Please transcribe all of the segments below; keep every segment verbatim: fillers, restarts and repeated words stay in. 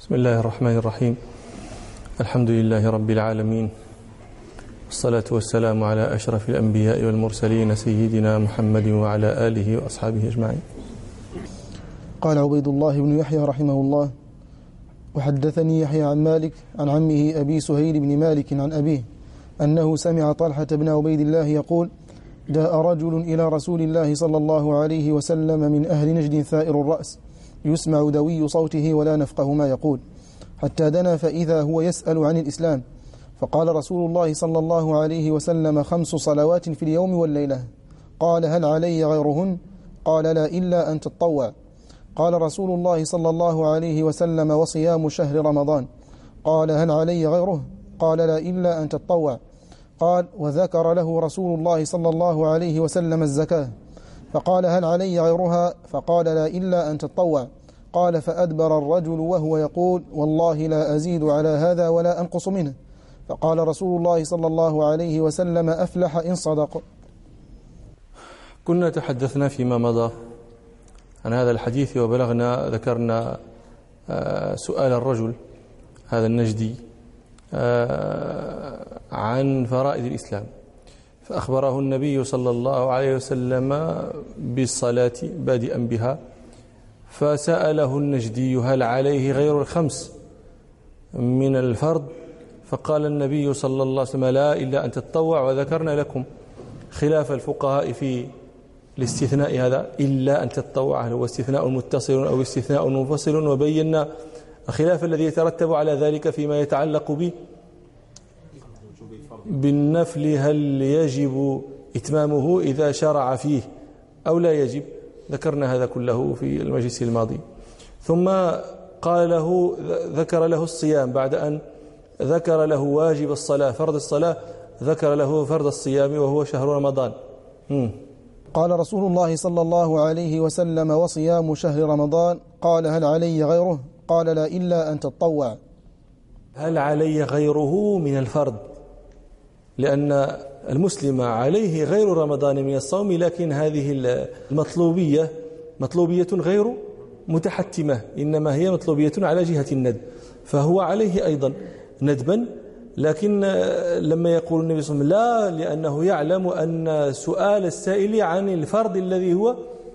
بسم الله الرحمن الرحيم. الحمد لله رب العالمين، والصلاة والسلام على أشرف الأنبياء والمرسلين سيدنا محمد وعلى آله وأصحابه أجمعين. قال عبيد الله بن يحيى رحمه الله: وحدثني يحيى عن مالك عن عمه أبي سهيل بن مالك عن أبيه أنه سمع طلحة بن عبيد الله يقول: جاء رجل إلى رسول الله صلى الله عليه وسلم من أهل نجد ثائر الرأس يسمع دوي صوته ولا نفقه ما يقول، حتى دنا فإذا هو يسأل عن الإسلام، فقال رسول الله صلى الله عليه وسلم: خمس صلوات في اليوم والليلة. قال: هل علي غيرهن؟ قال: لا، إلا أن تتطوع. قال رسول الله صلى الله عليه وسلم: وصيام شهر رمضان. قال: هل علي غيره؟ قال: لا، إلا أن تتطوع. قال: وذكر له رسول الله صلى الله عليه وسلم الزكاة، فقال: هل علي غيرها؟ فقال: لا، إلا أن تتطوع. قال: فأدبر الرجل وهو يقول: والله لا أزيد على هذا ولا أنقص منه. فقال رسول الله صلى الله عليه وسلم: أفلح إن صدق. كنا تحدثنا فيما مضى عن هذا الحديث، وبلغنا ذكرنا سؤال الرجل هذا النجدي عن فرائض الإسلام، فأخبره النبي صلى الله عليه وسلم بالصلاة بادئا بها، فسأله النجدي: هل عليه غير الخمس من الفرض؟ فقال النبي صلى الله عليه وسلم: لا، إلا أن تتطوع. وذكرنا لكم خلاف الفقهاء في الاستثناء هذا، إلا أن تتطوع، هل هو استثناء متصل أو استثناء منفصل، وبينا الخلاف الذي يترتب على ذلك فيما يتعلق به بالنفل، هل يجب إتمامه إذا شرع فيه أو لا يجب. ذكرنا هذا كله في المجلس الماضي. ثم قال له ذكر له الصيام، بعد أن ذكر له واجب الصلاة فرض الصلاة، ذكر له فرض الصيام وهو شهر رمضان. م. قال رسول الله صلى الله عليه وسلم: وصيام شهر رمضان. قال: هل علي غيره؟ قال: لا، إلا أن تتطوع. هل علي غيره من الفرض؟ لأن المسلم عليه غير رمضان من الصوم، لكن هذه المطلوبية مطلوبية غير متحتمة، إنما هي مطلوبية على جهة الندب، فهو عليه أيضا ندبا. لكن لما يقول النبي صلى الله عليه وسلم لا، لأنه يعلم أن سؤال السائل عن الفرض الذي هو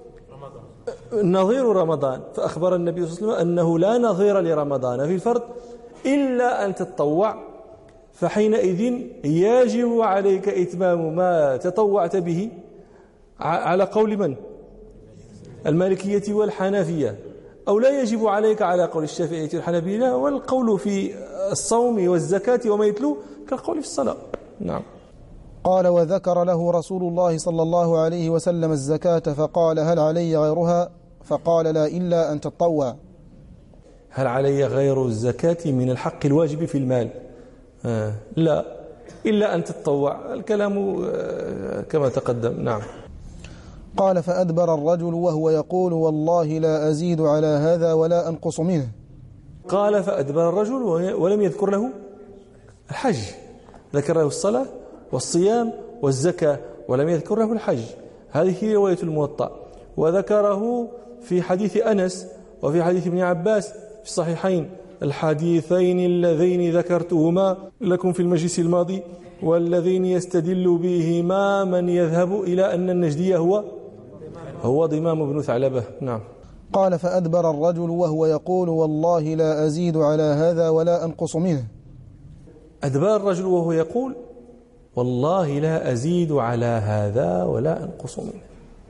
نظير رمضان، فأخبر النبي صلى الله عليه وسلم أنه لا نظير لرمضان في الفرض إلا أن تتطوع، فحينئذ يجب عليك إتمام ما تطوعت به على قول من؟ المالكية والحنفية، أو لا يجب عليك على قول الشافعية والحنابلة، والقول في الصوم والزكاة وما يتلو كالقول في الصلاة. نعم. قال: وذكر له رسول الله صلى الله عليه وسلم الزكاة، فقال: هل علي غيرها؟ فقال: لا، إلا أن تتطوع. هل علي غير الزكاة من الحق الواجب في المال؟ آه لا، إلا أن تتطوع. الكلام آه كما تقدم. نعم. قال: فأدبر الرجل وهو يقول: والله لا أزيد على هذا ولا أنقص منه. قال: فأدبر الرجل ولم يذكر له الحج، ذكر له الصلاة والصيام والزكاة ولم يذكر له الحج. هذه هي رواية الموطأ، وذكره في حديث أنس وفي حديث ابن عباس في الصحيحين، الحديثين اللذين ذكرتهما لكم في المجلس الماضي، والذين يستدل بهما من يذهب إلى أن النجدي هو هو ضمام بن ثعلبة. نعم. قال: فأدبر الرجل وهو يقول: والله لا أزيد على هذا ولا أنقص منه. أدبر الرجل وهو يقول: والله لا أزيد على هذا ولا أنقص منه.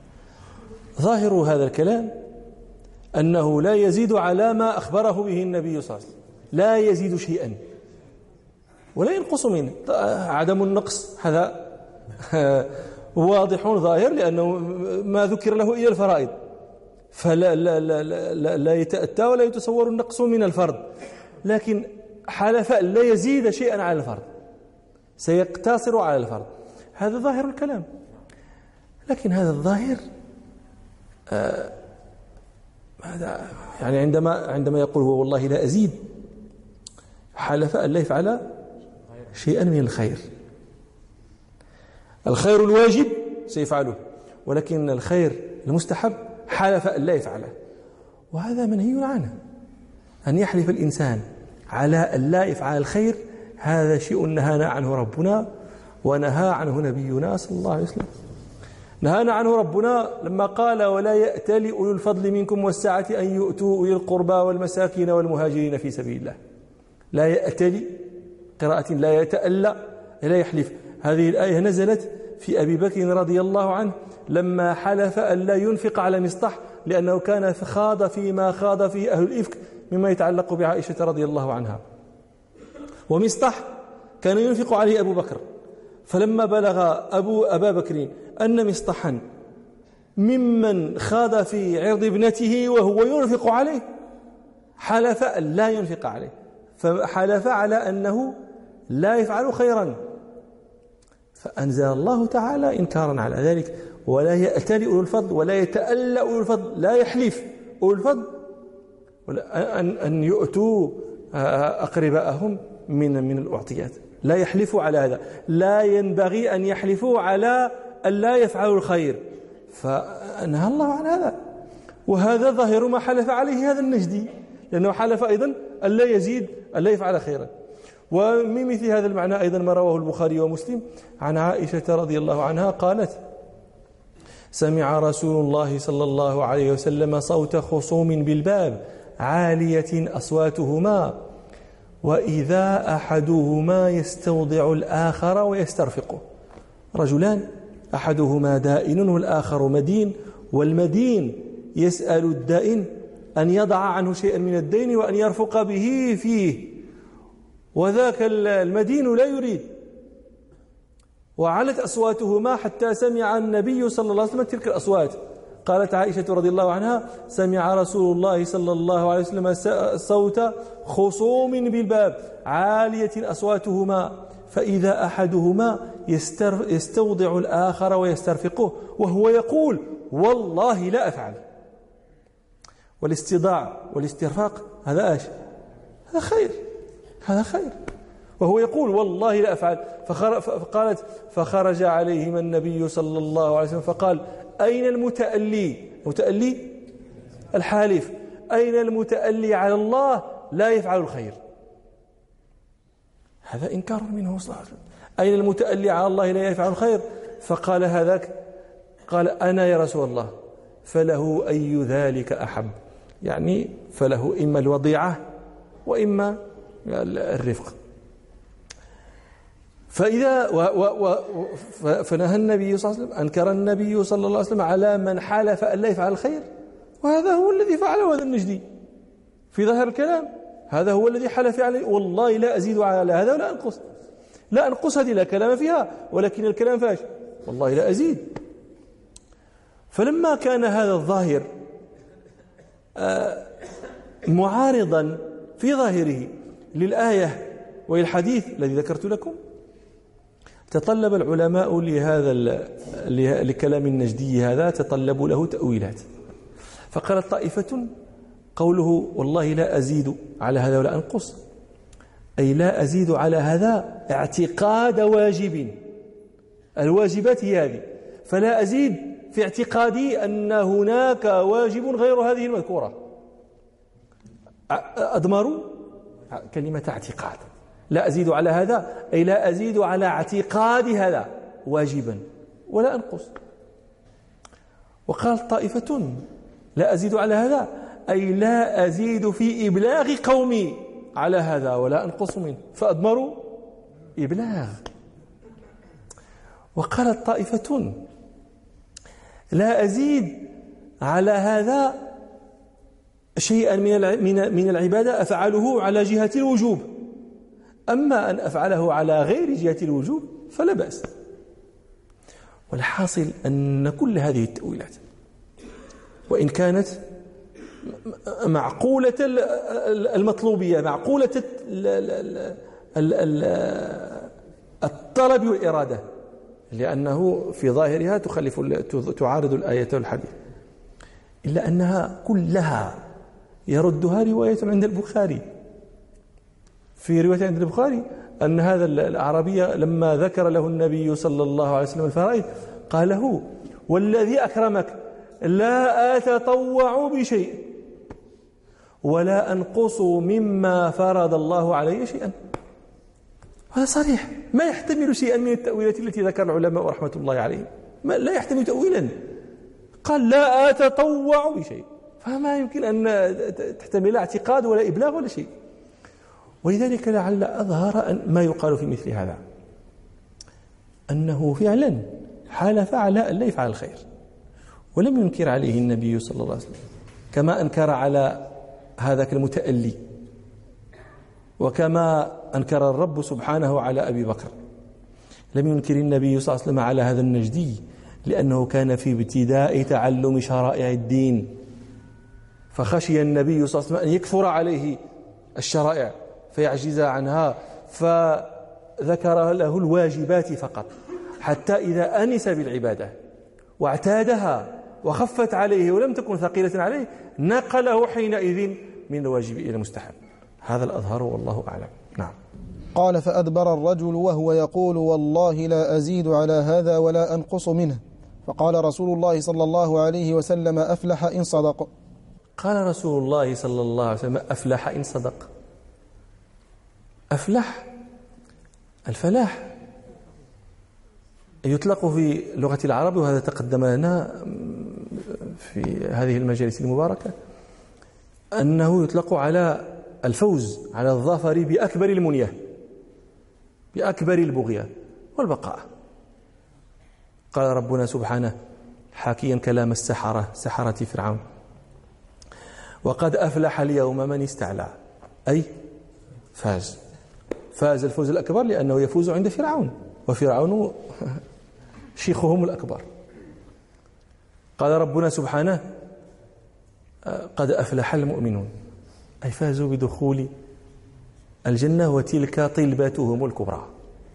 ظاهر هذا الكلام أنه لا يزيد على ما أخبره به النبي صلى الله عليه وسلم، لا يزيد شيئا ولا ينقص منه. عدم النقص هذا واضح ظاهر، لأنه ما ذكر له إلا الفرائض، فلا لا لا لا, لا يتأتى ولا يتصور النقص من الفرض، لكن حلف أن لا يزيد شيئا على الفرض، سيقتصر على الفرض. هذا ظاهر الكلام. لكن هذا الظاهر آه هذا يعني عندما عندما يقول هو والله لا أزيد، حلف أن لا يفعل شيئا من الخير. الخير الواجب سيفعله، ولكن الخير المستحب حلف أن لا يفعله، وهذا منهي عنه. أن يحلف الإنسان على أن لا يفعل الخير، هذا شيء نهانا عنه ربنا ونهى عنه نبينا صلى الله عليه وسلم. نهانا عنه ربنا لما قال: ولا يأتل أولو الفضل منكم والسعة أن يؤتوا أولي القربى والمساكين والمهاجرين في سبيل الله. لا يأتل، قراءة لا يتألى، لا يحلف. هذه الآية نزلت في أبي بكر رضي الله عنه لما حلف أن لا ينفق على مصطح، لأنه كان خاض فيما خاض فيه أهل الإفك مما يتعلق بعائشة رضي الله عنها. ومصطح كان ينفق عليه أبو بكر، فلما بلغ أبو أبا بكر أن مصطحا ممن خاض في عرض ابنته وهو ينفق عليه، حلف أن لا ينفق عليه، فحلف على أنه لا يفعل خيرا، فأنزل الله تعالى إنكارا على ذلك: ولا يأتل أولو الفضل ولا يتألى أولو الفضل. لا يحلف أولو الفضل أن أن يؤتوا أقرباءهم من من الأعطيات، لا يحلفوا على هذا. لا ينبغي أن يحلفوا على أن لا يفعلوا الخير، فنهى الله عن هذا. وهذا ظاهر ما حلف عليه هذا النجدي، لأنه حلف أيضا أن لا يزيد أن لا يفعل خيرا. ومن مثل هذا المعنى أيضا ما رواه البخاري ومسلم عن عائشة رضي الله عنها قالت: سمع رسول الله صلى الله عليه وسلم صوت خصوم بالباب عالية أصواتهما، وإذا أحدهما يستوضع الآخر ويسترفقه. رجلان، أحدهما دائن والآخر مدين، والمدين يسأل الدائن أن يضع عنه شيئا من الدين وأن يرفق به فيه، وذاك المدين لا يريد. وعلت أصواتهما حتى سمع النبي صلى الله عليه وسلم تلك الأصوات. قالت عائشة رضي الله عنها: سمع رسول الله صلى الله عليه وسلم صوت خصوم بالباب عالية أصواتهما، فإذا أحدهما يستوضع الآخر ويسترفقه وهو يقول: والله لا أفعل. والاستضاع والاسترفاق هذا ايش؟ هذا خير، هذا خير. وهو يقول: والله لا أفعل. فقالت: فخرج عليهما النبي صلى الله عليه وسلم فقال: أين المتألي؟ المتألي الحالف، أين المتألي على الله لا يفعل الخير؟ هذا إنكار منه صلى الله عليه وسلم. أين المتألي على الله لا يفعل الخير؟ فقال هذاك، قال: أنا يا رسول الله. فله أي ذلك أحب، يعني فله إما الوضيعة وإما الرفق. فإذا و و و فنهى النبي صلى الله عليه وسلم، أنكر النبي صلى الله عليه وسلم على من حلف أن لا يفعل الخير، وهذا هو الذي فعله هذا النجدي في ظاهر الكلام. هذا هو الذي حلف عليه: والله لا أزيد على هذا ولا أنقص. لا أنقص هذه لا كلام فيها، ولكن الكلام فاش؟ والله لا أزيد. فلما كان هذا الظاهر معارضا في ظاهره للآية وللحديث الذي ذكرت لكم، تطلب العلماء لهذا لكلام النجدي هذا تطلبوا له تأويلات. فقالت طائفة: قوله والله لا أزيد على هذا ولا أنقص، أي لا أزيد على هذا اعتقاد واجب، الواجبات هي هذه، فلا أزيد في اعتقادي أن هناك واجب غير هذه المذكورة. أضمروا كلمة اعتقاد، لا أزيد على هذا أي لا أزيد على اعتقاد هذا واجبا ولا أنقص. وقال طائفة: لا أزيد على هذا أي لا أزيد في إبلاغ قومي على هذا ولا أنقص منه، فأضمروا إبلاغ. وقالت طائفة: لا أزيد على هذا شيئا من من العبادة أفعله على جهة الوجوب، أما أن أفعله على غير جهة الوجوب فلا بأس. والحاصل أن كل هذه التأويلات وإن كانت معقولة المطلوبية، معقولة الطلب والإرادة، لأنه في ظاهرها تخلف تعارض الآية والحديث، إلا أنها كلها يردها رواية عند البخاري. في رواية عند البخاري أن هذا الأعرابي لما ذكر له النبي صلى الله عليه وسلم الفرائض قال له: والذي أكرمك لا أتطوع بشيء ولا أنقص مما فرض الله علي شيئا. هذا صريح، ما يحتمل شيئا من التأويلات التي ذكر العلماء رحمة الله عليهم، ما لا يحتمل تأويلا. قال لا أتطوع بشيء، فما يمكن أن تحتمل اعتقاد ولا إبلاغ ولا شيء. ولذلك لعل أظهر أن ما يقال في مثل هذا أنه فعلا حالف على أن لا يفعل الخير، ولم ينكر عليه النبي صلى الله عليه وسلم كما أنكر على هذاك المتألي، وكما أنكر الرب سبحانه على أبي بكر. لم ينكر النبي صلى الله عليه وسلم على هذا النجدي لأنه كان في ابتداء تعلم شرائع الدين، فخشي النبي صلى الله عليه وسلم أن يكثر عليه الشرائع فيعجز عنها، فذكر له الواجبات فقط، حتى إذا أنس بالعبادة واعتادها وخفت عليه ولم تكن ثقيلة عليه نقله حينئذ من الواجب إلى المستحب. هذا الأظهر والله أعلم. نعم. قال فأدبر الرجل وهو يقول والله لا أزيد على هذا ولا أنقص منه، فقال رسول الله صلى الله عليه وسلم أفلح إن صدق. قال رسول الله صلى الله عليه وسلم أفلح إن صدق. أفلح، الفلاح يطلق في لغة العرب، وهذا تقدم لنا في هذه المجالس المباركة، أنه يطلق على الفوز، على الظفر بأكبر المنية، بأكبر البغية والبقاء. قال ربنا سبحانه حاكيا كلام السحرة سحرة فرعون: وقد أفلح اليوم من استعلى، أي فاز، فاز الفوز الأكبر لأنه يفوز عند فرعون، وفرعون شيخهم الأكبر. قال ربنا سبحانه قد أفلح المؤمنون، أي فازوا بدخول الجنة وتلك طلبتهم الكبرى.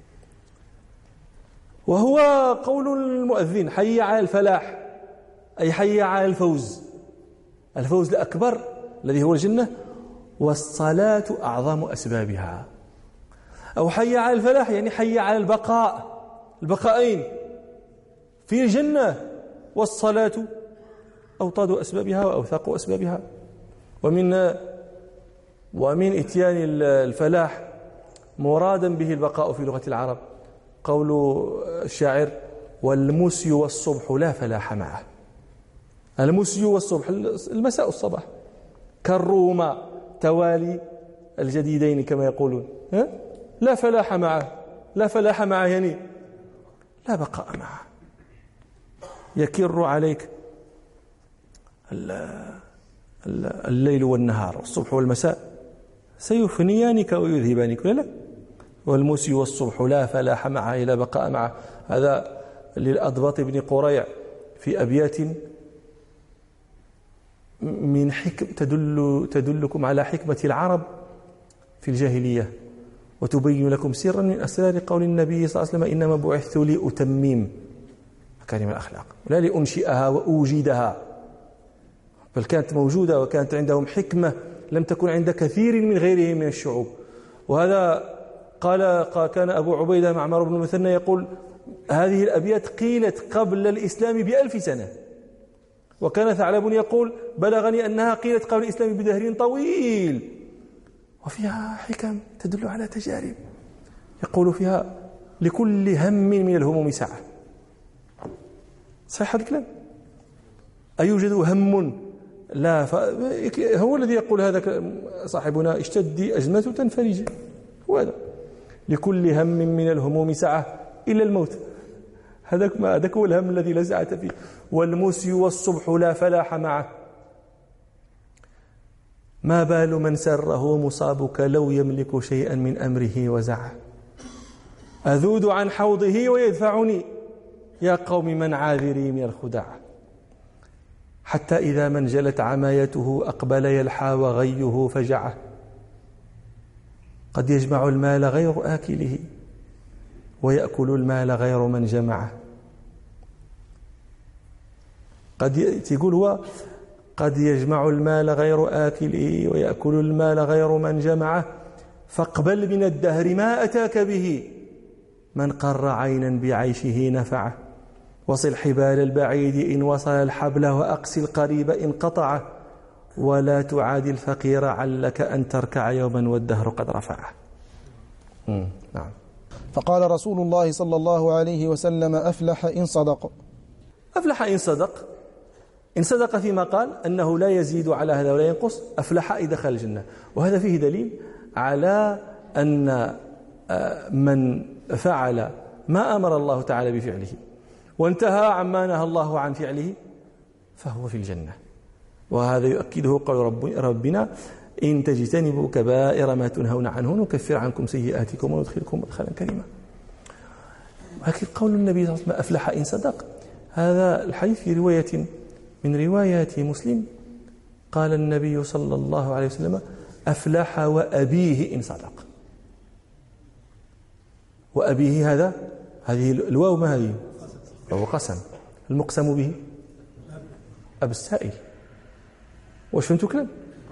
وهو قول المؤذن حي على الفلاح، أي حي على الفوز، الفوز الأكبر الذي هو الجنة، والصلاة أعظم أسبابها. أو حي على الفلاح يعني حي على البقاء، البقائين في الجنة، والصلاة أوطاد أسبابها وأوثاق أسبابها. ومن ومن إتيان الفلاح مرادا به البقاء في لغة العرب قول الشاعر: والمسي والصبح لا فلاح معه. المسي والصبح المساء والصباح كالروما توالي الجديدين كما يقولون، لا فلاح معه، لا فلاح معه يعني لا بقاء معه. يكر عليك الليل والنهار والصبح والمساء سيفنيانك ويذهبانك، لا لا. والمسي والصبح لا فلاح معه إلا بقاء معه. هذا للأضبط بن قريع في أبيات من حكم تدل تدلكم على حكمة العرب في الجاهلية، وتبين لكم سرا من أسرار قول النبي صلى الله عليه وسلم: إنما بعثت لأتمم مكارم الأخلاق لا لأنشئها وأوجدها. بل كانت موجودة وكانت عندهم حكمة لم تكن عند كثير من غيرهم من الشعوب. وهذا قال كان أبو عبيدة معمر بن المثنى يقول: هذه الأبيات قيلت قبل الإسلام بألف سنة. وكان ثعلب يقول: بلغني أنها قيلت قبل الإسلام بدهر طويل، وفيها حكم تدل على تجارب. يقول فيها: لكل هم من الهموم ساعة. صحيح هذا الكلام؟ أيوجد هم لا ف... هو الذي يقول هذا صاحبنا: اشتدي أزمة تنفرج. هو هذا: لكل هم من الهموم ساعة إلا الموت. هذاك ما هذاك هو الهم الذي لا ساعة فيه. والمسي والصبح لا فلاح معه. ما بال من سره مصابك لو يملك شيئا من أمره وزعه. أذود عن حوضه ويدفعني يا قوم من عاذري من الخدع. حتى إذا من جلت عمايته أقبل يلحى وغيه فجعه. قد يجمع المال غير آكله ويأكل المال غير من جمعه. قد يقول هو: قد يجمع المال غير آكله ويأكل المال غير من جمعه. فاقبل من الدهر ما أتاك به من قر عينا بعيشه نفعه. وصل حبال البعيد إن وصل الحبل وأقسي القريب إن قطعه. ولا تعادي الفقير علك أن تركع يوما والدهر قد رفعه. نعم. فقال رسول الله صلى الله عليه وسلم: أفلح إن صدق. أفلح إن صدق، إن صدق فيما قال أنه لا يزيد على هذا ولا ينقص، أفلح إذا دخل الجنة. وهذا فيه دليل على أن من فعل ما أمر الله تعالى بفعله وانتهى عما نهى الله عن فعله فهو في الجنة. وهذا يؤكده قول رب ربنا: إن تجتنبوا كبائر ما تنهون عنه نكفر عنكم سيئاتكم وندخلكم مدخلا كريما. ولكن قول النبي صلى الله عليه وسلم: أفلح إن صدق، هذا الحديث في رواية من روايات مسلم قال النبي صلى الله عليه وسلم: أفلح وأبيه إن صدق. وأبيه هذا هذه الواو ما هذه؟ وهو قسم. المقسم به أب السائل. واش فهمتوا كلام؟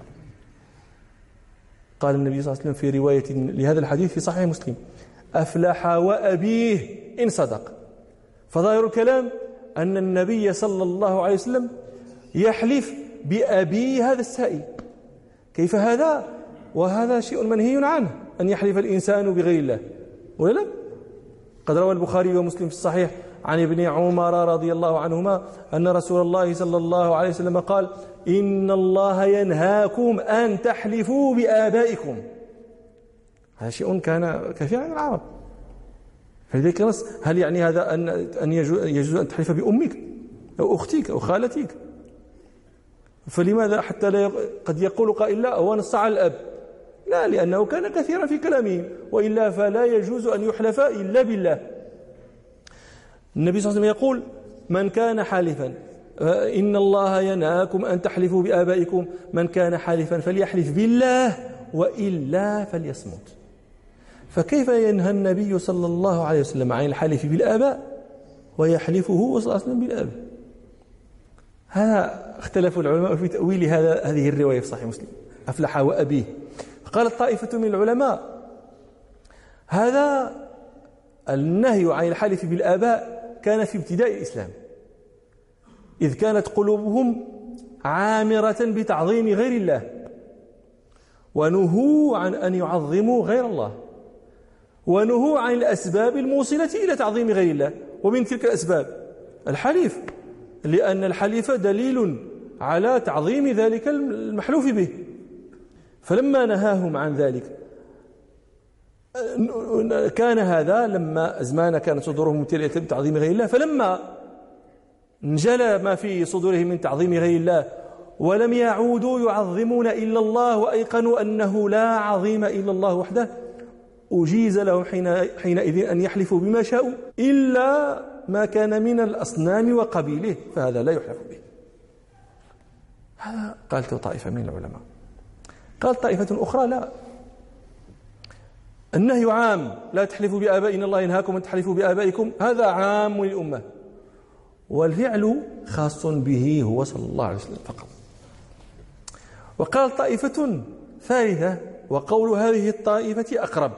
قال النبي صلى الله عليه وسلم في رواية لهذا الحديث في صحيح مسلم: أفلح وأبيه إن صدق. فظاهر الكلام أن النبي صلى الله عليه وسلم يحلف بأبي هذا السائل. كيف هذا؟ وهذا شيء منهي عنه، أن يحلف الإنسان بغير الله، ولا لا؟ قد روى البخاري ومسلم في الصحيح عن ابن عمر رضي الله عنهما أن رسول الله صلى الله عليه وسلم قال: إن الله ينهاكم أن تحلفوا بآبائكم. هذا شيء كان كثيرا عن العرب. فلذلك نص: هل يعني هذا أن أن يجوز أن تحلف بأمك أو أختك أو خالتك؟ فلماذا حتى لا قد يقول قائل: لا هو نص على الأب؟ لا، لأنه كان كثيرا في كلامه، وإلا فلا يجوز أن يحلف إلا بالله. النبي صلى الله عليه وسلم يقول: من كان حالفا إن الله ينهاكم أن تحلفوا بآبائكم، من كان حالفا فليحلف بالله وإلا فليصمت. فكيف ينهى النبي صلى الله عليه وسلم عن الحلف بالآباء ويحلفه صلى الله عليه وسلم بالآباء؟ هذا اختلف العلماء في تأويل هذا هذه الرواية في صحيح مسلم: أفلح وأبيه. قالت طائفة من العلماء: هذا النهي عن الحلف بالآباء كان في ابتداء الإسلام، إذ كانت قلوبهم عامرة بتعظيم غير الله، ونهوا عن أن يعظموا غير الله، ونهوا عن الأسباب الموصلة إلى تعظيم غير الله. ومن تلك الأسباب الحليف، لأن الحليف دليل على تعظيم ذلك المحلوف به. فلما نهاهم عن ذلك كان هذا لما أزمان كانت صدورهم ممتلئة بتعظيم غير الله، فلما انجلى ما في صدورهم من تعظيم غير الله ولم يعودوا يعظمون إلا الله وأيقنوا أنه لا عظيم إلا الله وحده، أجيز لهم حينئذ أن يحلفوا بما شاءوا إلا ما كان من الأصنام وقبيله، فهذا لا يحلف به. هذا قالت طائفة من العلماء. قال طائفة أخرى: لا، النهي عام، لا تحلفوا بآبائنا، الله ينهاكم أن تحلفوا بآبائكم، هذا عام للأمة، والفعل خاص به هو صلى الله عليه وسلم فقط. وقال طائفة ثالثة، وقول هذه الطائفة أقرب،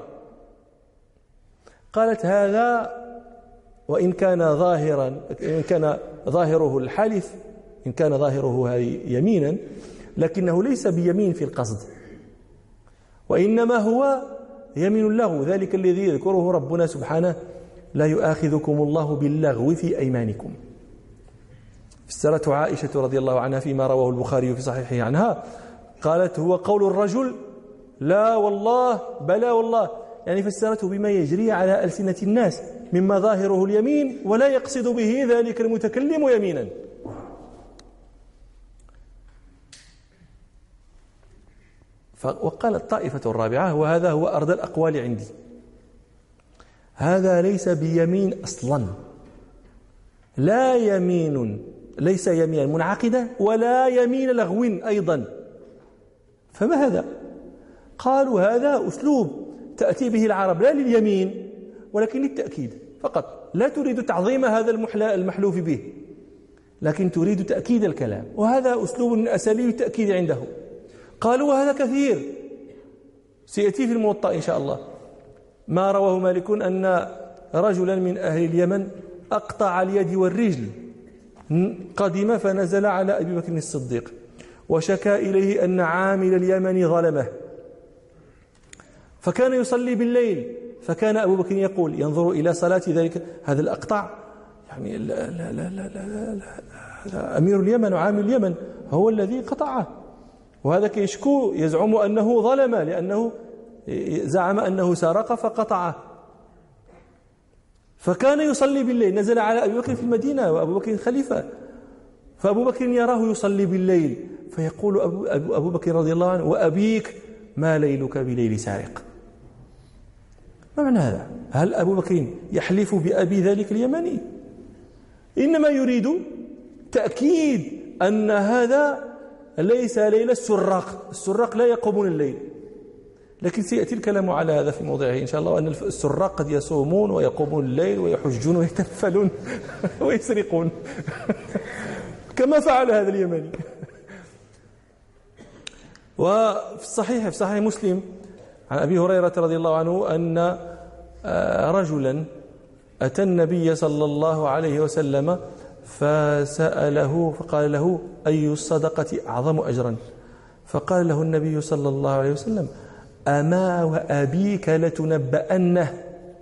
قالت: هذا وإن كان ظاهرا إن كان ظاهره الحلف، إن كان ظاهره يمينا، لكنه ليس بيمين في القصد، وإنما هو يمين اللغو، ذلك الذي يذكره ربنا سبحانه: لا يؤاخذكم الله باللغو في أيمانكم. فسرته عائشة رضي الله عنها فيما رواه البخاري في صحيحه عنها، قالت: هو قول الرجل لا والله بلا والله، يعني فسرته بما يجري على ألسنة الناس مما ظاهره اليمين ولا يقصد به ذلك المتكلم يمينا. وقالت الطائفة الرابعة، وهذا هو أرض الأقوال عندي: هذا ليس بيمين أصلا، لا يمين، ليس يمينا منعقدة ولا يمين لغو أيضا. فما هذا؟ قالوا: هذا أسلوب تأتي به العرب لا لليمين ولكن للتأكيد فقط، لا تريد تعظيم هذا المحلوف به، لكن تريد تأكيد الكلام، وهذا أسلوب من أساليب التأكيد عنده. قالوا: وهذا كثير، سيأتي في الموطأ إن شاء الله ما رواه مالك أن رجلا من أهل اليمن أقطع اليد والرجل، قدم فنزل على أبي بكر الصديق وشكى إليه أن عامل اليمن ظلمه، فكان يصلي بالليل، فكان أبو بكر يقول ينظر إلى صلاة ذلك هذا الأقطع، يعني لا لا لا لا لا لا أمير اليمن وعامل اليمن هو الذي قطعه، وهذا كيشكو يزعم أنه ظلم لأنه زعم أنه سرق فقطعه. فكان يصلي بالليل، نزل على أبي بكر في المدينة وأبو بكر خليفة، فأبو بكر يراه يصلي بالليل فيقول أبو, أبو بكر رضي الله عنه وأبيك ما ليلك بليل سارق. ما معنى هذا؟ هل أبو بكر يحلف بأبي ذلك اليمني؟ إنما يريد تأكيد أن هذا ليس ليل السراق، السراق لا يقومون الليل، لكن سيأتي الكلام على هذا في موضعه إن شاء الله، وأن السراق قد يصومون ويقومون الليل ويحجون ويتنفلون ويسرقون كما فعل هذا اليمني. وفي الصحيح في صحيح مسلم عن أبي هريرة رضي الله عنه أن رجلا أتى النبي صلى الله عليه وسلم فسأله فقال له أي الصدقة أعظم أجرا؟ فقال له النبي صلى الله عليه وسلم أما وأبيك لتنبأنه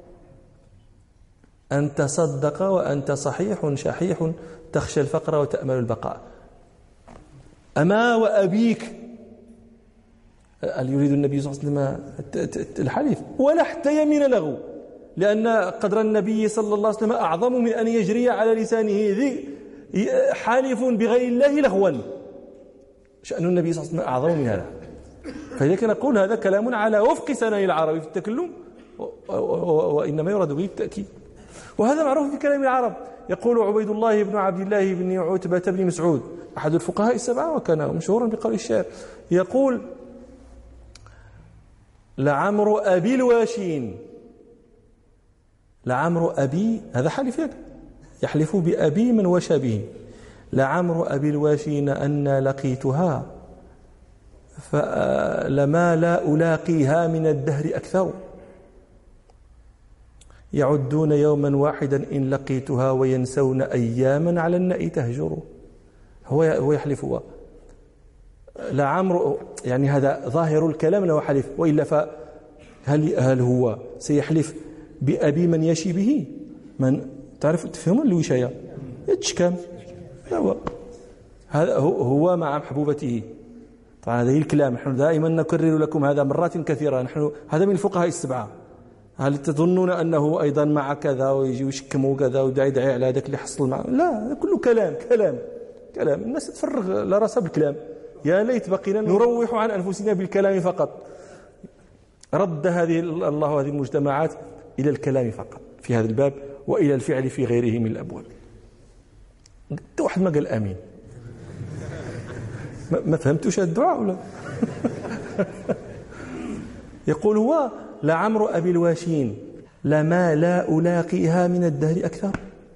أن تصدق وأنت صحيح شحيح تخشى الفقر وتأمل البقاء. أما وأبيك، هل يريد النبي صلى الله عليه وسلم الحليف ولا حتى يمين له، لأن قدر النبي صلى الله عليه وسلم أعظم من أن يجري على لسانه ذي حالف بغير الله لغوا. شأن النبي صلى الله عليه وسلم أعظم من هذا، فلذلك نقول هذا كلام على وفق سنن العرب في التكلم، وإنما يراد به التأكيد، وهذا معروف في كلام العرب. يقول عبيد الله بن عبد الله بن عتبة بن مسعود أحد الفقهاء السبعة وكان مشهورا بقول الشعر، يقول لعمر أبي الواشين، لعمر أبي، هذا حلف يحلف بأبي من وشى به، لعمر أبي الواشين أن لقيتها فلما لا ألاقيها من الدهر أكثر، يعدون يوما واحدا إن لقيتها وينسون أياما على النأي تهجر. هو هو يحلف هو لعمر، يعني هذا ظاهر الكلام له حلف، وإلا فهل هل هو سيحلف بأبي من يشي به؟ من تعرف تفهمون الوشاية يتشكم، هو هذا هو مع محبوبته. طبعا هذا الكلام نحن دائما نكرر لكم هذا مرات كثيرة، نحن هذا من الفقهاء السبعة. هل تظنون أنه أيضا مع كذا ويجي ويشكموا كذا ويدعي يدعي على هذاك اللي حصل معه؟ لا، كله كلام كلام كلام، الناس تفرغ لراسها بالكلام. يا ليت بقينا نروح عن أنفسنا بالكلام فقط. رد هذه الله هذه المجتمعات إلى الكلام فقط في هذا الباب، وإلى الفعل في غيره من الأبواب. واحد ما قال آمين، ما فهمتوش الدعاء ولا؟ يقول هو لعمر أبي الواشين لما لا ألاقيها من الدهر أكثر،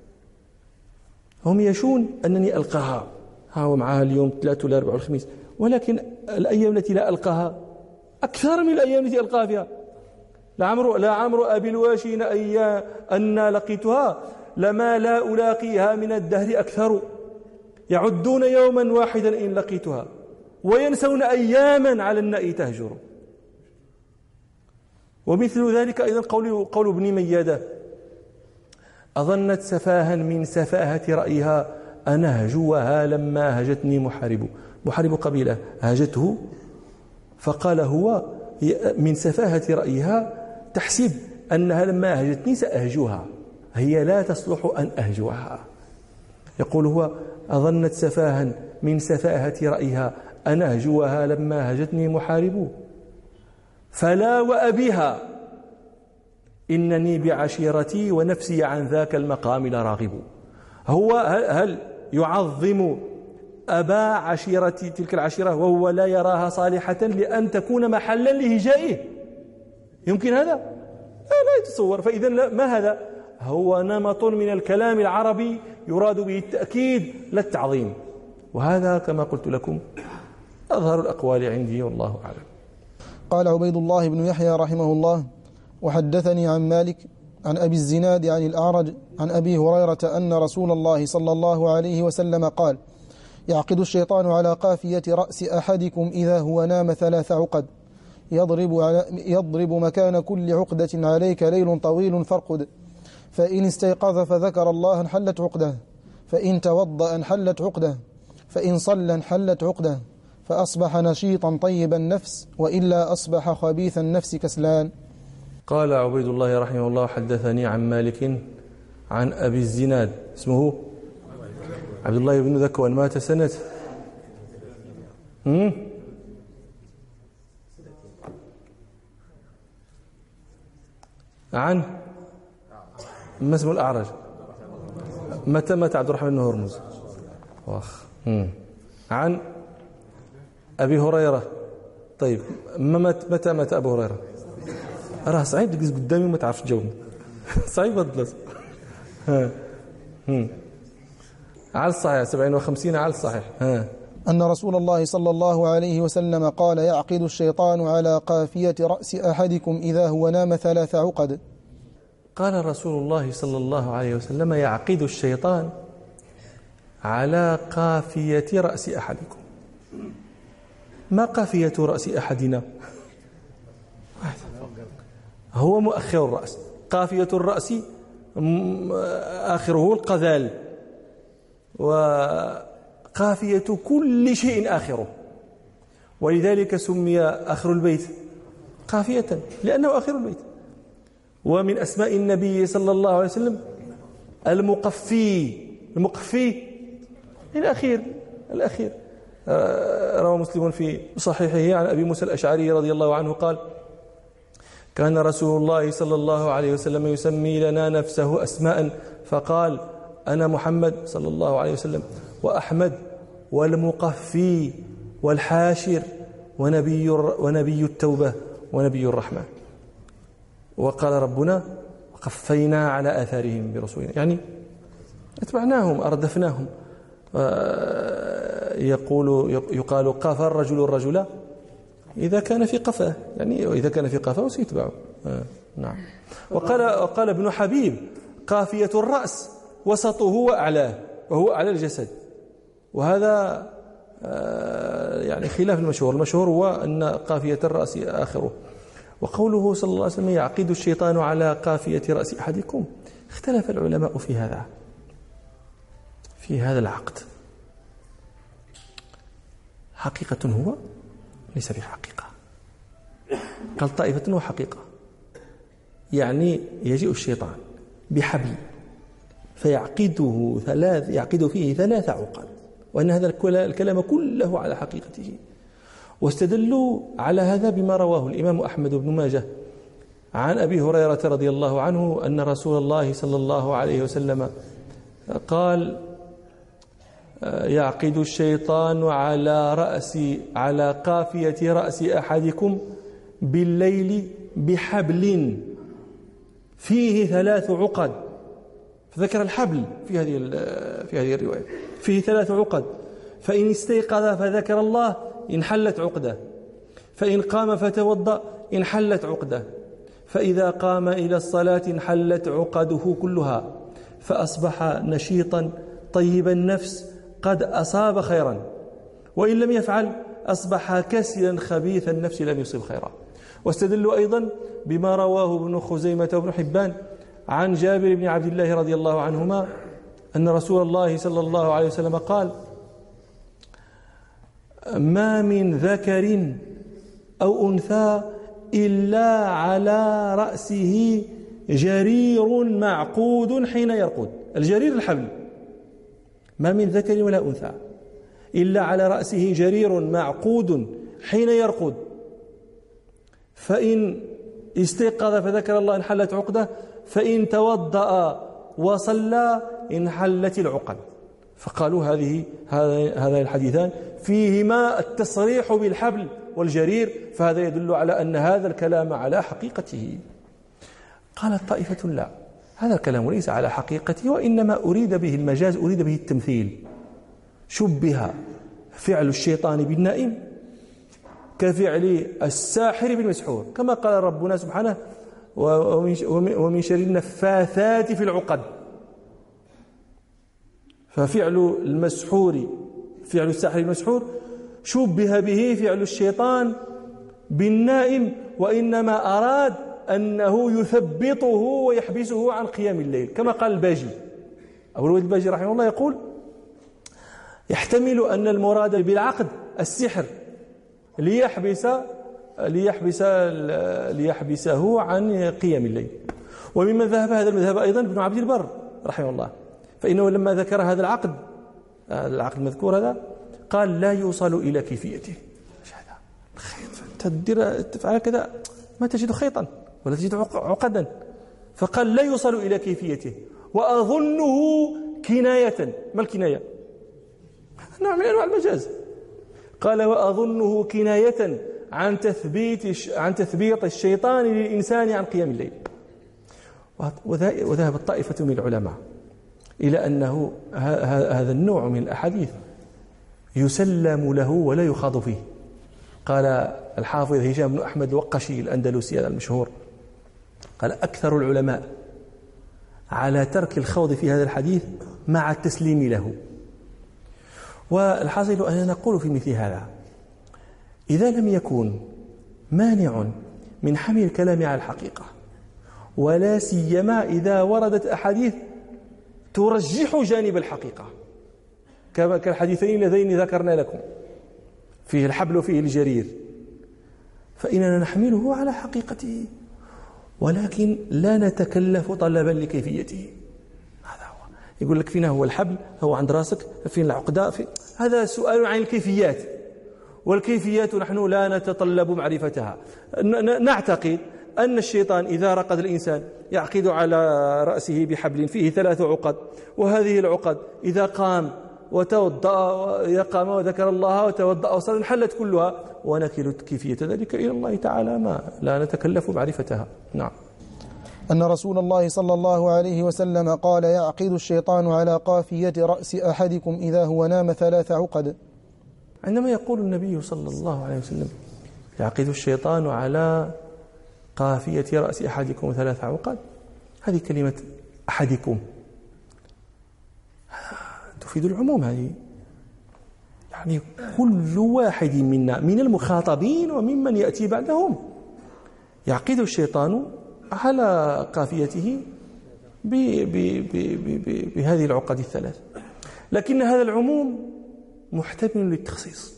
هم يشون أنني ألقاها، ها هو معها اليوم ثلاثة ولا أربعة والخميس، ولكن الأيام التي لا ألقاها أكثر من الأيام التي ألقاها فيها. لعمر لعمر أبي الواشين أيام أن لقيتها لما لا ألاقيها من الدهر أكثر، يعدون يوما واحدا إن لقيتها وينسون أياما على النأي تهجر. ومثل ذلك أيضا قول قول ابن ميادة أظنت سفاها من سفاهة رأيها أنهجوها لما هجتني محارب، محارب قبيلة هاجته، فقال هو من سفاهة رأيها تحسب أنها لما هجتني سأهجوها، هي لا تصلح أن أهجوها. يقول هو أظنت سفاها من سفاهة رأيها أنهجوها لما هجتني محارب، فلا وأبيها إنني بعشيرتي ونفسي عن ذاك المقام لراغب. هو هل يعظم أبا عشيرة تلك العشيرة وهو لا يراها صالحة لأن تكون محلا لهجائه؟ يمكن هذا؟ لا, لا يتصور. فإذا ما هذا؟ هو نمط من الكلام العربي يراد به التأكيد لا التعظيم، وهذا كما قلت لكم أظهر الأقوال عندي والله أعلم. قال عبيد الله بن يحيى رحمه الله وحدثني عن مالك عن أبي الزناد عن الأعرج عن أبي هريرة أن رسول الله صلى الله عليه وسلم قال يعقد الشيطان على قافية رأس أحدكم إذا هو نام ثلاث عقد يضرب, على يضرب مكان كل عقدة عليك ليل طويل فارقد فإن استيقظ فذكر الله انحلت عقده فإن توضأ انحلت عقده فإن صلى انحلت عقده فأصبح نشيطا طيب النفس وإلا أصبح خبيث النفس كسلان. قال عبيد الله رحمه الله حدثني عن مالك عن أبي الزناد اسمه عبد الله بن ذكوان مات سنة هم؟ عن ما اسمه الأعرج متى مات عبد الرحمن بن هرمز واخ عن أبي هريرة. طيب متى مات أبو هريرة؟ راه صعيب تجلس قدامي وما تعرفش تجاوبني صعيب الدرس. ها هم على الصحيح سبعين وخمسين على الصحيح. ها أن رسول الله صلى الله عليه وسلم قال يعقد الشيطان على قافية رأس أحدكم إذا هو نام ثلاث عقد. قال رسول الله صلى الله عليه وسلم يعقد الشيطان على قافية رأس أحدكم. ما قافية رأس أحدنا؟ هو مؤخر الرأس. قافية الرأس آخره القذال وقافية كل شيء آخره ولذلك سمي آخر البيت قافية لأنه آخر البيت. ومن أسماء النبي صلى الله عليه وسلم المقفي المقفي الأخير الأخير. روى مسلم في صحيحه عن أبي موسى الأشعري رضي الله عنه قال كان رسول الله صلى الله عليه وسلم يسمي لنا نفسه أسماء فقال أنا محمد صلى الله عليه وسلم وأحمد والمقفي والحاشر ونبي, ونبي التوبة ونبي الرحمة. وقال ربنا وقفينا على آثارهم برسولنا يعني اتبعناهم أردفناهم. يقول يقال قاف الرجل الرجل إذا كان في قفاه يعني إذا كان في قفاه سيتبعه. آه نعم. وقال وقال ابن حبيب قافية الرأس وسطه وأعلاه وهو أعلى الجسد وهذا آه يعني خلاف المشهور. المشهور هو أن قافية الرأس آخره. وقوله صلى الله عليه وسلم يعقد الشيطان على قافية رأس أحدكم اختلف العلماء في هذا في هذا العقد حقيقة هو ليس بحقيقة. قال طائفة هو حقيقة يعني يجيء الشيطان بحبل فيعقده ثلاث يعقد فيه ثلاث عقد وأن هذا الكلام كله على حقيقته. واستدلوا على هذا بما رواه الإمام أحمد بن ماجه عن أبي هريرة رضي الله عنه أن رسول الله صلى الله عليه وسلم قال يعقد الشيطان على رأس على قافية رأس أحدكم بالليل بحبل فيه ثلاث عقد. فذكر الحبل في هذه في هذه الرواية فيه ثلاث عقد. فإن استيقظ فذكر الله انحلت عقده فإن قام فتوضأ انحلت عقده فإذا قام إلى الصلاة انحلت عقده كلها فأصبح نشيطا طيب النفس قد أصاب خيرا وإن لم يفعل أصبح كسلا خبيث النفس لم يصب خيرا. واستدلوا أيضا بما رواه ابن خزيمة وابن حبان عن جابر بن عبد الله رضي الله عنهما أن رسول الله صلى الله عليه وسلم قال ما من ذكر أو أنثى إلا على رأسه جرير معقود حين يرقد. الجرير الحبل. ما من ذكر ولا أنثى إلا على رأسه جرير معقود حين يرقد فإن استيقظ فذكر الله انحلت عقده فإن توضأ وصلى انحلت العقد. فقالوا هذه هذا الحديثان فيهما التصريح بالحبل والجرير فهذا يدل على أن هذا الكلام على حقيقته. قالت طائفة لا هذا الكلام ليس على حقيقته وإنما أريد به المجاز أريد به التمثيل. شبه فعل الشيطان بالنائم كفعل الساحر بالمسحور كما قال ربنا سبحانه ومن شر النفاثات في العقد. ففعل المسحور فعل الساحر المسحور شبه به فعل الشيطان بالنائم، وإنما أراد أنه يثبطه ويحبسه عن قيام الليل، كما قال الباجي. أبو الوليد الباجي رحمه الله يقول: يحتمل أن المراد بالعقد السحر ليحبس ليحبس ليحبسه عن قيام الليل. وممن ذهب هذا المذهب أيضا ابن عبد البر رحمه الله، فإنه لما ذكر هذا العقد هذا العقد المذكور هذا قال: لا يوصل إلى كيفيته. هذا الخيط تدير تفعل كذا ما تجد خيطا ولا تجد عقدا، فقال: لا يوصل إلى كيفيته، وأظنه كناية. ما الكناية؟ نوع من أنواع المجاز. قال: وأظنه كناية عن تثبيت عن تثبيط الشيطان للإنسان عن قيام الليل. وذهب الطائفة من العلماء إلى أنه هذا النوع من الأحاديث يسلم له ولا يخاض فيه. قال الحافظ هشام بن أحمد الوقشي الأندلسي هذا المشهور، قال: أكثر العلماء على ترك الخوض في هذا الحديث مع التسليم له. والحاصل أننا نقول في مثل هذا: إذا لم يكن مانع من حمل الكلام على الحقيقة، ولا سيما إذا وردت أحاديث ترجح جانب الحقيقة كالحديثين اللذين ذكرنا لكم، فيه الحبل وفيه الجرير، فإننا نحمله على حقيقته، ولكن لا نتكلف طلبا لكيفيته. هذا هو. يقول لك: فينا هو الحبل، هو عند راسك، فين العقدة، في هذا سؤال عن الكيفيات، والكيفيات نحن لا نتطلب معرفتها. نعتقد أن الشيطان إذا رقد الإنسان يعقد على رأسه بحبل فيه ثلاث عقد، وهذه العقد إذا قام وتوضأ يقام وذكر الله وتوضأ وصلى انحلت كلها، ونكل كيفية ذلك إلى الله تعالى، ما لا نتكلف معرفتها. نعم. أن رسول الله صلى الله عليه وسلم قال: يعقد الشيطان على قافية رأس أحدكم إذا هو نام ثلاث عقد. عندما يقول النبي صلى الله عليه وسلم: يعقد الشيطان على قافية رأس أحدكم ثلاث عقد، هذه كلمة أحدكم تفيد العموم. هذه يعني كل واحد منا من المخاطبين وممن يأتي بعدهم يعقد الشيطان على قافيته بهذه العقد الثلاث. لكن هذا العموم محتمل للتخصيص،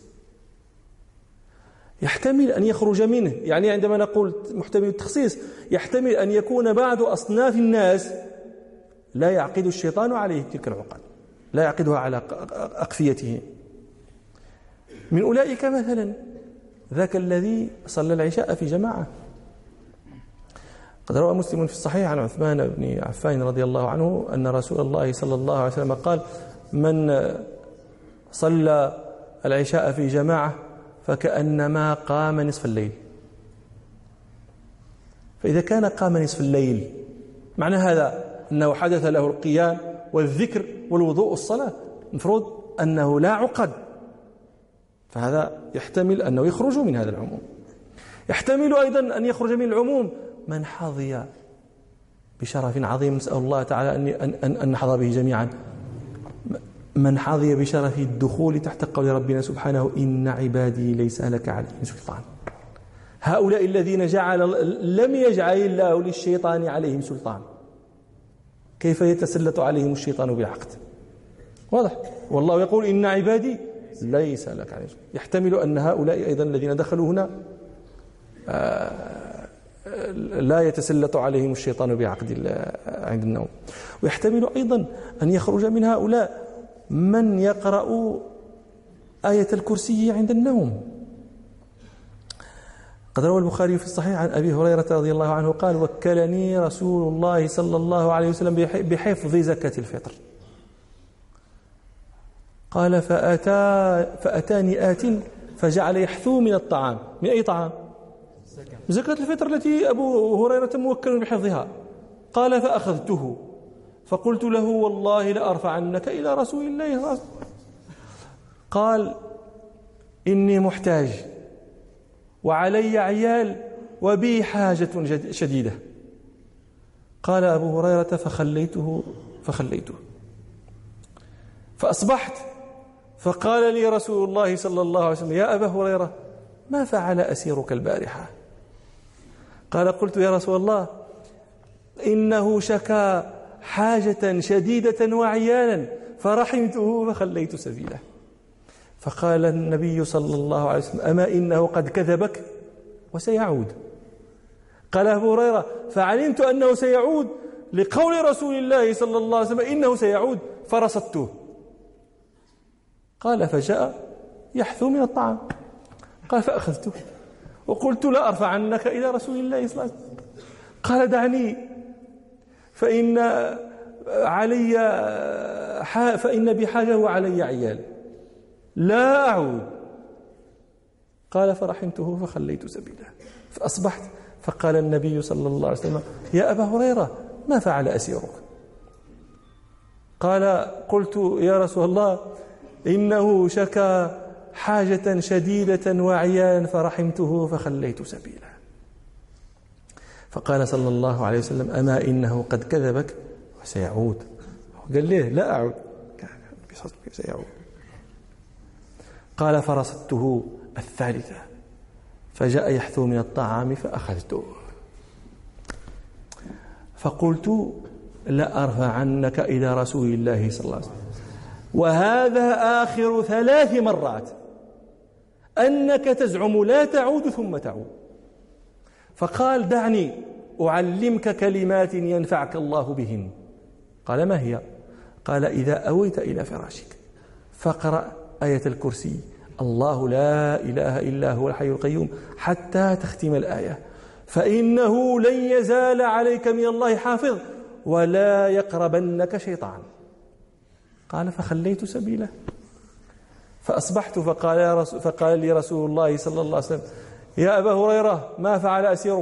يحتمل أن يخرج منه. يعني عندما نقول محتمل للتخصيص، يحتمل أن يكون بعض أصناف الناس لا يعقد الشيطان عليه تلك العقد، لا يعقدها على أقفيته. من أولئك مثلا ذاك الذي صلى العشاء في جماعة. قد روى مسلم في الصحيح عن عثمان بن عفان رضي الله عنه أن رسول الله صلى الله عليه وسلم قال: من صلى العشاء في جماعة فكأنما قام نصف الليل. فإذا كان قام نصف الليل، معنى هذا أنه حدث له القيام والذكر والوضوء والصلاة، المفروض أنه لا عقد، فهذا يحتمل أنه يخرج من هذا العموم. يحتمل أيضا أن يخرج من العموم من حظي بشرف عظيم، نسأل الله تعالى أن, أن, أن نحظى به جميعا، من حظي بشرف الدخول تحت قول ربنا سبحانه: إن عبادي ليس لك عليهم سلطان. هؤلاء الذين جعل لم يجعل الله للشيطان عليهم سلطان، كيف يتسلط عليهم الشيطان بالعقد؟ واضح. والله يقول: إن عبادي ليس لك عليهم. يحتمل أن هؤلاء أيضا الذين دخلوا هنا لا يتسلط عليهم الشيطان بعقد عند النوم. ويحتمل أيضا أن يخرج من هؤلاء من يقرأ آية الكرسي عند النوم. قد روى البخاري في الصحيح عن أبي هريرة رضي الله عنه قال: وكلني رسول الله صلى الله عليه وسلم بحفظ زكاة الفطر. قال: فأتى فأتاني آت فجعل يحثو من الطعام. من أي طعام؟ زكاة الفطر التي أبو هريرة موكل بحفظها. قال: فأخذته فقلت له: والله لأرفعنك إلى رسول الله. قال: إني محتاج وعلي عيال وبي حاجة شديدة. قال أبو هريرة: فخليته فخليته فأصبحت فقال لي رسول الله صلى الله عليه وسلم: يا أبا هريرة، ما فعل أسيرك البارحة؟ قال: قلت: يا رسول الله، إنه شكا حاجة شديدة وعيانا فرحمته فخليت سبيله. فقال النبي صلى الله عليه وسلم: أما إنه قد كذبك وسيعود. قال أبو هريرة: فعلمت أنه سيعود لقول رسول الله صلى الله عليه وسلم إنه سيعود فرصدته. قال: فجاء يحثو من الطعام. قال: فأخذته وقلت: لا أرفع عنك إلى رسول الله صلى الله عليه وسلم. قال: دعني فإن علي فإن بحاجة وعلي عيال، لا أعود. قال: فرحمته فخليت سبيله. فأصبحت فقال النبي صلى الله عليه وسلم: يا أبا هريرة، ما فعل أسيرك؟ قال: قلت: يا رسول الله، إنه شكا حاجة شديدة وعيانا فرحمته فخليت سبيله. فقال صلى الله عليه وسلم: أما إنه قد كذبك وسيعود. قال ليه: لا أعود، سيعود. قال: فرصدته الثالثة فجاء يحثو من الطعام فأخذته. فقلت: لا أرفع عنك إلى رسول الله صلى الله عليه وسلم. وهذا آخر ثلاث مرات أنك تزعم لا تعود ثم تعود. فقال: دعني أعلمك كلمات ينفعك الله بهن. قال: ما هي؟ قال: إذا أويت إلى فراشك فاقرأ آية الكرسي: الله لا إله إلا هو الحي القيوم، حتى تختم الآية، فإنه لن يزال عليك من الله حافظ ولا يقربنك شيطان. قال: فخليت سبيله. فأصبحت فقال, يا رسول فقال لي رسول الله صلى الله عليه وسلم: يا أبا هريرة، ما فعل أسيرك؟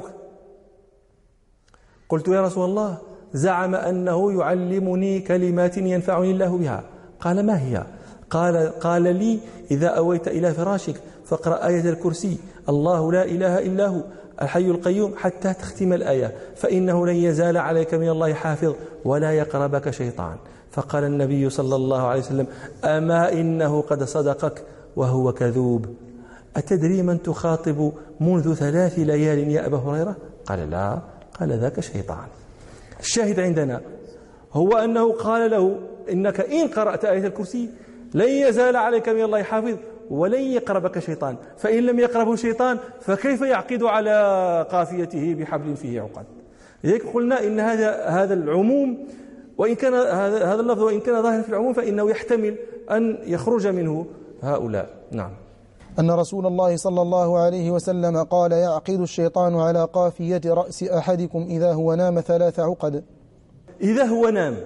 قلت: يا رسول الله، زعم أنه يعلمني كلمات ينفعني الله بها. قال: ما هي؟ قال, قال لي: إذا أويت إلى فراشك فاقرأ آية الكرسي: الله لا إله إلا هو الحي القيوم، حتى تختم الآية، فإنه لن يزال عليك من الله حافظ ولا يقربك شيطان. فقال النبي صلى الله عليه وسلم: أما إنه قد صدقك وهو كذوب. أتدري من تخاطب منذ ثلاث ليال يا أبا هريرة؟ قال: لا. قال: ذاك شيطان. الشاهد عندنا هو أنه قال له: إنك إن قرأت آية الكرسي لن يزال عليك من الله حافظ ولن يقربك شيطان، فإن لم يقربه شيطان فكيف يعقد على قافيته بحبل فيه عقد؟ لذلك قلنا إن هذا هذا العموم، وإن كان هذا هذا اللفظ وإن كان ظاهرا في العموم، فإنه يحتمل أن يخرج منه هؤلاء. نعم. أن رسول الله صلى الله عليه وسلم قال: يعقد الشيطان على قافية رأس أحدكم إذا هو نام ثلاث عقد. إذا هو نام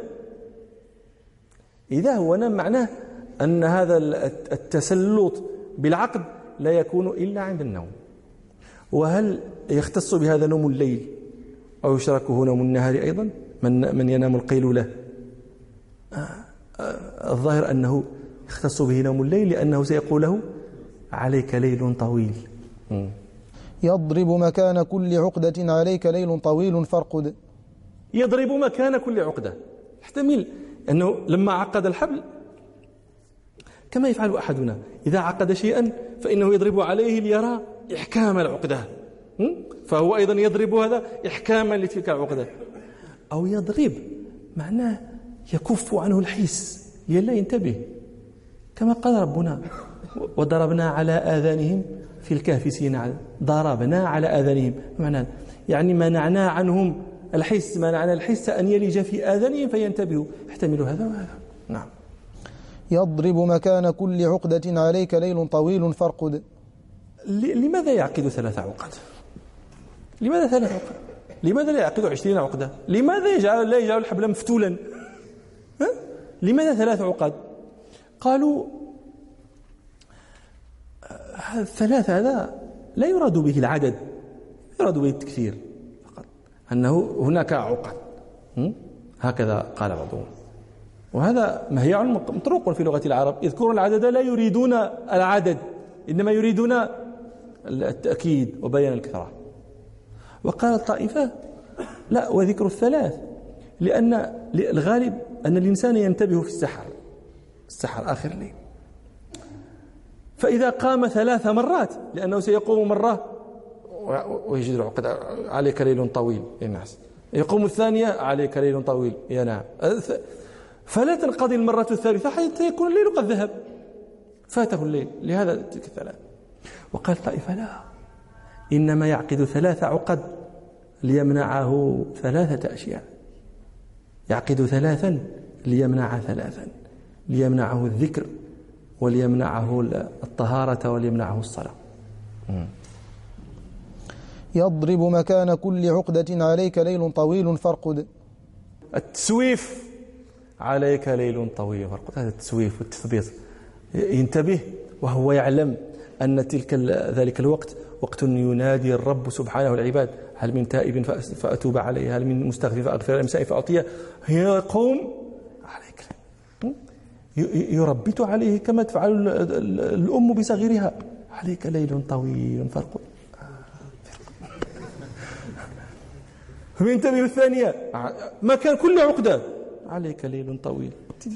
إذا هو نام معناه أن هذا التسلط بالعقد لا يكون إلا عند النوم. وهل يختص بهذا نوم الليل أو يشركه نوم النهار أيضا؟ من من ينام القيلولة الظاهر أنه يختص به نوم الليل، لأنه سيقول له: عليك ليل طويل. يضرب مكان كل عقدة عليك ليل طويل فارقد. يضرب مكان كل عقدة، يحتمل أنه لما عقد الحبل كما يفعل أحدنا إذا عقد شيئا فإنه يضرب عليه ليرى إحكام العقدة، فهو أيضا يضرب هذا إحكاما لتلك العقدة. أو يضرب معناه يكف عنه الحس، يلا ينتبه، كما قال ربنا: وضربنا على آذانهم في الكهف سنين. ضربنا على آذانهم معناه يعني منعنا عنهم الحس، منعنا الحس أن يلج في آذانهم فينتبهوا، يحتمل هذا وهذا. نعم. يضرب مكان كل عقدة عليك ليل طويل فارقد. لماذا يعقد ثلاث عقد؟ لماذا ثلاث عقد؟ لماذا لا يعقد عشرين عقدة؟ لماذا يجعل لا يجعل الحبل مفتولا؟ ها؟ لماذا ثلاث عقد؟ قالوا الثلاث هذا لا يراد به العدد، يراد به التكثير فقط، أنه هناك عقد، هكذا قال بعضهم. وهذا مهيع مطروق في لغة العرب، يذكرون العدد لا يريدون العدد، إنما يريدون التأكيد وبيان الكثرة. وقال الطائفة: لا، وذكر الثلاث لأن الغالب أن الإنسان ينتبه في السحر، السحر آخر الليل، فإذا قام ثلاث مرات، لأنه سيقوم مرة ويجد العقد عليك ليل طويل ينعس، يقوم الثانية عليك ليل طويل ينام، فلا تنقضي المرة الثالثة حتى يكون الليل قد ذهب، فاته الليل. لهذا تلك الثلاث. وقال طائفة لا، إنما يعقد ثلاث عقد ليمنعه ثلاثة أشياء، يعقد ثلاثا ليمنع ثلاثا، ليمنعه الذكر وليمنعه الطهارة وليمنعه الصلاة. يضرب مكان كل عقدة عليك ليل طويل فارقد. التسويف عليك ليل طويل فارقد، هذا التسويف والتثبيط. ينتبه وهو يعلم أن تلك ذلك الوقت وقت ينادي الرب سبحانه العباد: هل من تائب فأتوب عليه، هل من مستغفر فأغفر المسائل فأعطيه. يقوم عليك، يربت عليه كما تفعل الأم بصغيرها: عليك ليل طويل فارقد. وينتبه الثانية: ما كان كل عقدة عليك ليل طويل.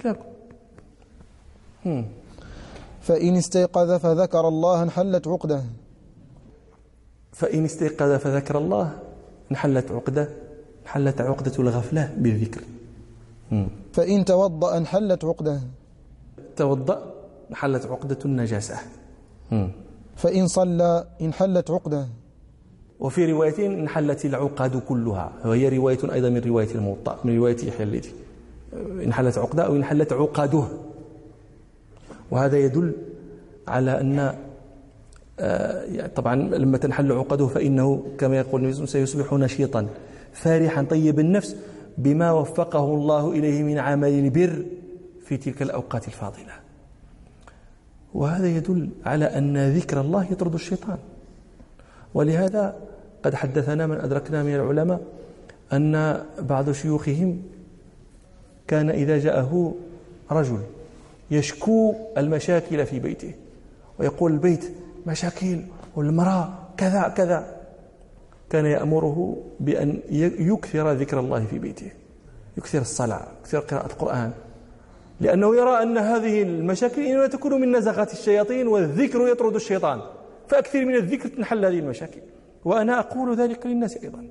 فإن استيقظ فذكر الله انحلت عقده. فإن استيقظ فذكر الله انحلت عقده، انحلت عقدة الغفلة بالذكر. فإن توضأ انحلت عقده. توضأ انحلت عقدة النجاسة. فإن صلى انحلت عقده. وفي رواية انحلت العقد كلها، وهي رواية أيضا من رواية الموطأ، من رواية يحيى الليثي: انحلت عقده أو انحلت عقده. وهذا يدل على أن آه طبعا لما تنحل عقده فإنه كما يقول النبي سيصبح نشيطا فارحا طيب النفس بما وفقه الله إليه من عمل البر في تلك الأوقات الفاضلة. وهذا يدل على أن ذكر الله يطرد الشيطان. ولهذا قد حدثنا من أدركنا من العلماء أن بعض شيوخهم كان إذا جاءه رجل يشكو المشاكل في بيته ويقول: البيت مشاكل والمرأة كذا كذا، كان يأمره بأن يكثر ذكر الله في بيته، يكثر الصلاة، يكثر قراءة القرآن، لأنه يرى أن هذه المشاكل إنما تكون من نزغات الشياطين، والذكر يطرد الشيطان، فأكثر من الذكر تنحل هذه المشاكل. وأنا أقول ذلك للناس أيضا: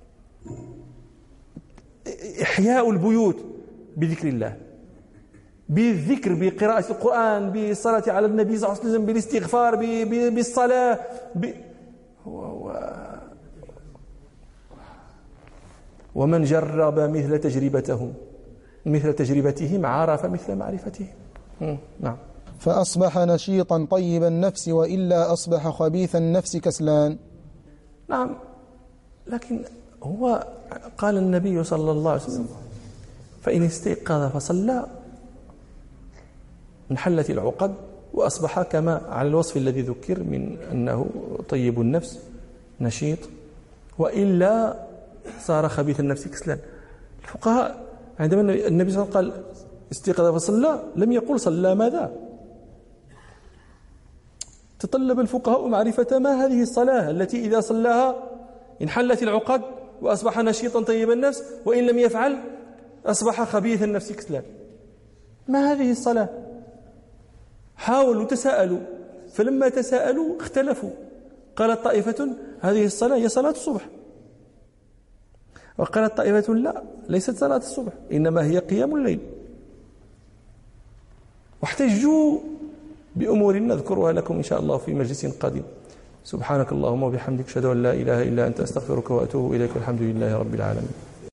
إحياء البيوت بذكر الله، بالذكر، بقراءة القرآن، بالصلاة على النبي صلى الله عليه وسلم، بالاستغفار، بالصلاة ب... ومن جرب مثل تجربتهم مثل تجربتهم عرف مثل معرفتهم. نعم. فأصبح نشيطا طيب النفس، وإلا أصبح خبيث النفس كسلان. نعم، لكن هو قال النبي صلى الله عليه وسلم: فإن استيقظ فصلى انحلت العقد وأصبح كما على الوصف الذي ذكر من أنه طيب النفس نشيط، وإلا صار خبيث النفس كسلان. الفقهاء عندما النبي صلى الله عليه وسلم قال استيقظ فصلى لم يقل صلى ماذا. تطلب الفقهاء معرفة ما هذه الصلاة التي إذا صلاها انحلت العقد وأصبح نشيطا طيب النفس، وإن لم يفعل أصبح خبيث النفس كسلان. ما هذه الصلاة؟ حاولوا تساءلوا، فلما تساءلوا اختلفوا. قالت طائفة: هذه الصلاة هي صلاة الصبح. وقالت طائفة: لا، ليست صلاة الصبح، إنما هي قيام الليل. واحتجوا بأمور نذكرها لكم إن شاء الله في مجلس قادم. سبحانك اللهم وبحمدك، أشهد أن لا إله إلا أنت، أستغفرك وأتوب إليك، والحمد لله رب العالمين.